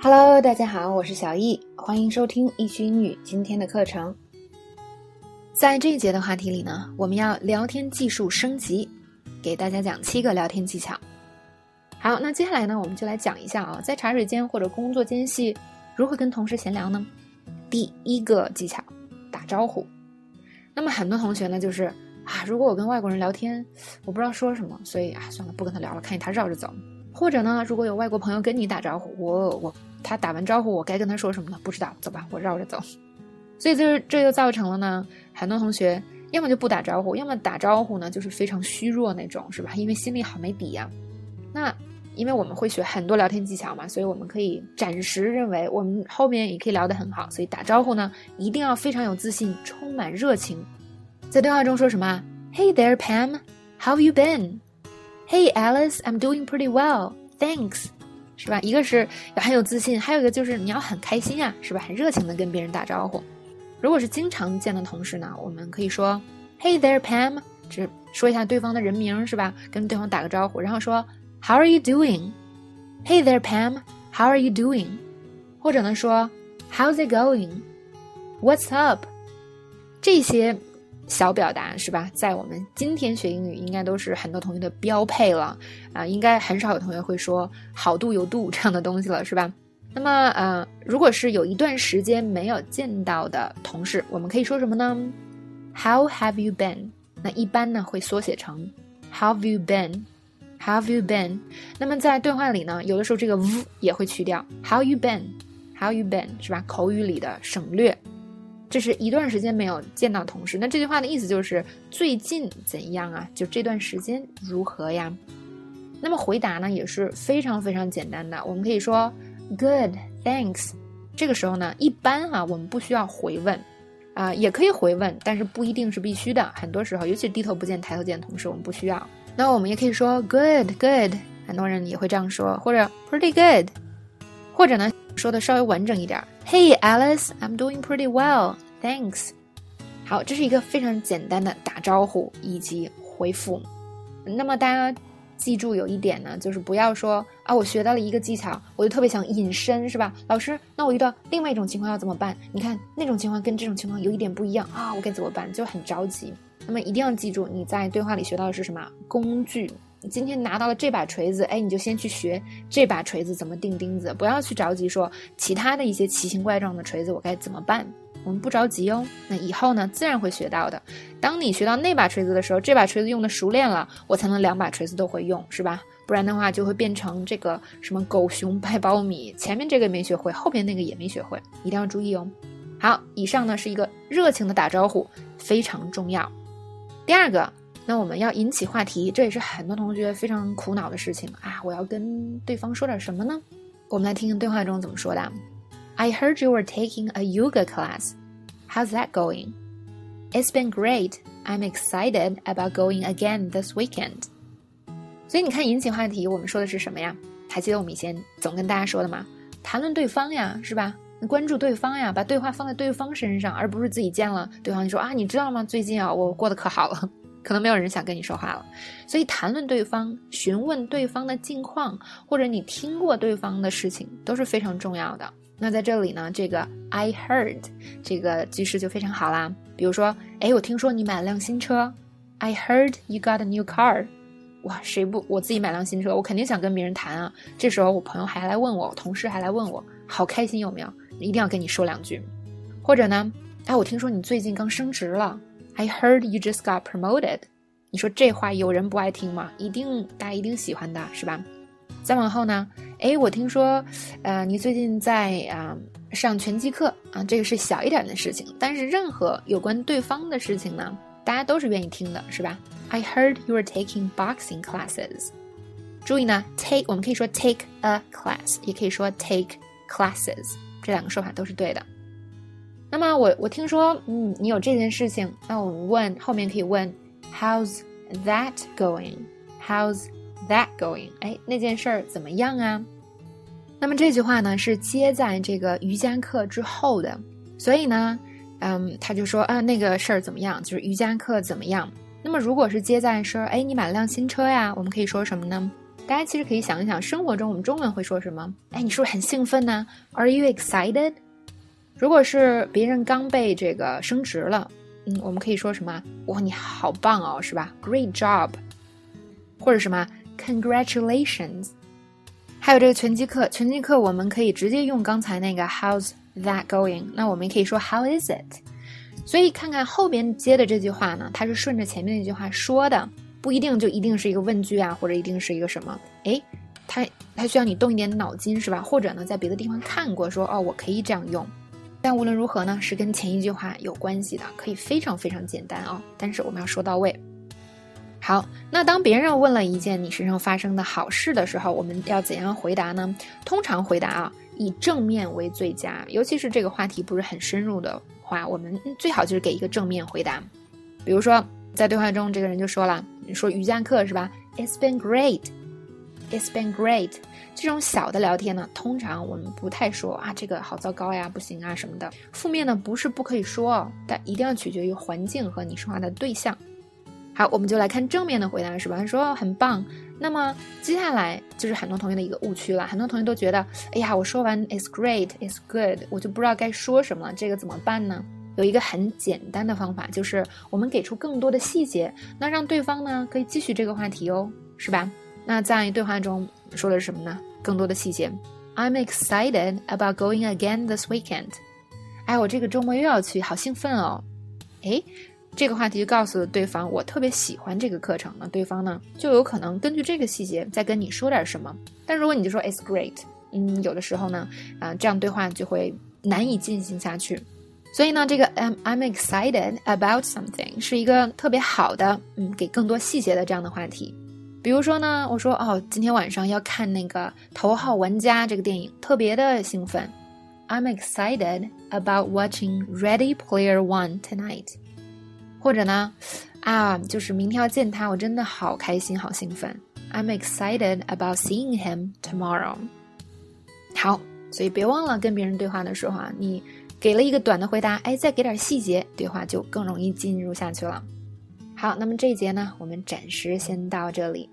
Hello， 大家好，我是小易，欢迎收听易趣英语今天的课程。在这一节的话题里呢，我们要聊天技术升级，给大家讲7个聊天技巧。好，那接下来呢，我们就来讲一下在茶水间或者工作间隙如何跟同事闲聊呢？第一个技巧，打招呼。那么很多同学呢，就是如果我跟外国人聊天，我不知道说什么，所以算了，不跟他聊了，看见他绕着走。或者呢，如果有外国朋友跟你打招呼，他打完招呼，我该跟他说什么呢？不知道，走吧，我绕着走。所以这就造成了呢，很多同学要么就不打招呼，要么打招呼呢就是非常虚弱那种，是吧？因为心里好没底啊。那因为我们会学很多聊天技巧嘛，所以我们可以暂时认为我们后面也可以聊得很好，所以打招呼呢一定要非常有自信，充满热情。在对话中说什么 Hey there Pam, how have you been? Hey Alice, I'm doing pretty well, thanks. 是吧？一个是要很有自信，还有一个就是你要很开心啊，是吧？很热情的跟别人打招呼。如果是经常见的同事呢，我们可以说 Hey there Pam, 只说一下对方的人名，是吧？跟对方打个招呼，然后说 How are you doing? Hey there Pam, how are you doing? 或者呢说 How's it going? What's up? 这些小表达是吧，在我们今天学英语应该都是很多同学的标配了应该很少有同学会说好度有度这样的东西了，是吧？那么如果是有一段时间没有见到的同事，我们可以说什么呢？ How have you been? 那一般呢会缩写成 How have you been? How have you been? 那么在对话里呢，有的时候这个 v 也会去掉 How you been? How you been? 是吧？口语里的省略。这是一段时间没有见到同事，那这句话的意思就是最近怎样啊？就这段时间如何呀？那么回答呢也是非常非常简单的，我们可以说 Good, thanks。 这个时候呢，一般我们不需要回问也可以回问，但是不一定是必须的。很多时候，尤其是低头不见抬头见的同事，我们不需要。那我们也可以说 Good, good， 很多人也会这样说，或者 Pretty good， 或者呢说的稍微完整一点 Hey Alice, I'm doing pretty well, thanks。 好，这是一个非常简单的打招呼以及回复。那么大家记住有一点呢，就是不要说我学到了一个技巧，我就特别想隐身，是吧？老师，那我遇到另外一种情况要怎么办？你看那种情况跟这种情况有一点不一样我该怎么办？就很着急。那么一定要记住，你在对话里学到的是什么？工具。你今天拿到了这把锤子，你就先去学这把锤子怎么钉钉子，不要去着急说其他的一些奇形怪状的锤子我该怎么办。我们不着急哦，那以后呢自然会学到的。当你学到那把锤子的时候，这把锤子用的熟练了，我才能2把锤子都会用，是吧？不然的话就会变成这个什么狗熊掰苞米，前面这个没学会，后面那个也没学会，一定要注意哦。好，以上呢是一个热情的打招呼，非常重要。第二个，那我们要引起话题，这也是很多同学非常苦恼的事情我要跟对方说点什么呢？我们来听听对话中怎么说的。I heard you were taking a yoga class. How's that going? It's been great. I'm excited about going again this weekend. 所以你看引起话题，我们说的是什么呀？还记得我们以前总跟大家说的吗？谈论对方呀，是吧？关注对方呀，把对话放在对方身上，而不是自己见了对方就说你知道吗？最近我过得可好了。可能没有人想跟你说话了。所以谈论对方，询问对方的近况，或者你听过对方的事情，都是非常重要的。那在这里呢，这个 I heard 这个句式就非常好啦。比如说我听说你买了辆新车， I heard you got a new car。 哇，谁不我自己买辆新车，我肯定想跟别人谈这时候我朋友还来问我，同事还来问我，好开心，有没有？一定要跟你说2句。或者呢我听说你最近刚升职了， I heard you just got promoted。 你说这话有人不爱听吗？大家一定喜欢的，是吧？再往后呢我听说你最近在上拳击课这个是小一点的事情，但是任何有关对方的事情呢，大家都是愿意听的，是吧？ I heard you were taking boxing classes。 注意呢 take 我们可以说 take a class， 也可以说 take classes， 这2个说法都是对的。那么我听说你有这件事情，那我们后面可以问 How's that going? How's that going? 那件事儿怎么样啊？那么这句话呢是接在这个瑜伽课之后的，所以呢他就说那个事儿怎么样，就是瑜伽课怎么样。那么如果是接在说你买了辆新车呀，我们可以说什么呢？ 大家其实可以想一想，生活中我们中文会说什么？哎，你是不是很兴奋呢？ Are you excited？ 如果是别人刚被这个升职了，我们可以说什么？哇，你好棒哦，是吧？ Great job。 或者什么 Congratulations。 还有这个拳击课我们可以直接用刚才那个 How's that going？ 那我们也可以说 How is it？ 所以看看后边接的这句话呢，它是顺着前面那句话说的，不一定就一定是一个问句啊，或者一定是一个什么，诶，它需要你动一点脑筋，是吧？或者呢在别的地方看过说，哦，我可以这样用。但无论如何呢，是跟前一句话有关系的，可以非常非常简单哦，但是我们要说到位。好，那当别人问了一件你身上发生的好事的时候，我们要怎样回答呢？通常回答啊，以正面为最佳，尤其是这个话题不是很深入的话，我们最好就是给一个正面回答。比如说在对话中这个人就说了，你说瑜伽课是吧？ It's been great。 It's been great。 这种小的聊天呢，通常我们不太说啊这个好糟糕呀，不行啊什么的。负面呢不是不可以说，但一定要取决于环境和你说话的对象。好，我们就来看正面的回答，是吧？说很棒。那么接下来就是很多同学的一个误区了，很多同学都觉得，哎呀，我说完 It's great, It's good， 我就不知道该说什么了，这个怎么办呢？有一个很简单的方法，就是我们给出更多的细节，那让对方呢可以继续这个话题哦，是吧？那在对话中说的是什么呢？更多的细节。I'm excited about going again this weekend。 哎，我这个周末又要去，好兴奋哦。诶，这个话题就告诉对方我特别喜欢这个课程呢，对方呢就有可能根据这个细节再跟你说点什么。但如果你就说 It's great， 有的时候呢这样对话就会难以进行下去。所以呢这个 I'm excited about something 是一个特别好的给更多细节的这样的话题。比如说呢，我说今天晚上要看那个头号玩家这个电影，特别的兴奋。I'm excited about watching Ready Player One tonight。或者呢就是明天要见他，我真的好开心好兴奋。 I'm excited about seeing him tomorrow。 好，所以别忘了跟别人对话的时候你给了一个短的回答，再给点细节，对话就更容易进入下去了。好，那么这一节呢我们暂时先到这里。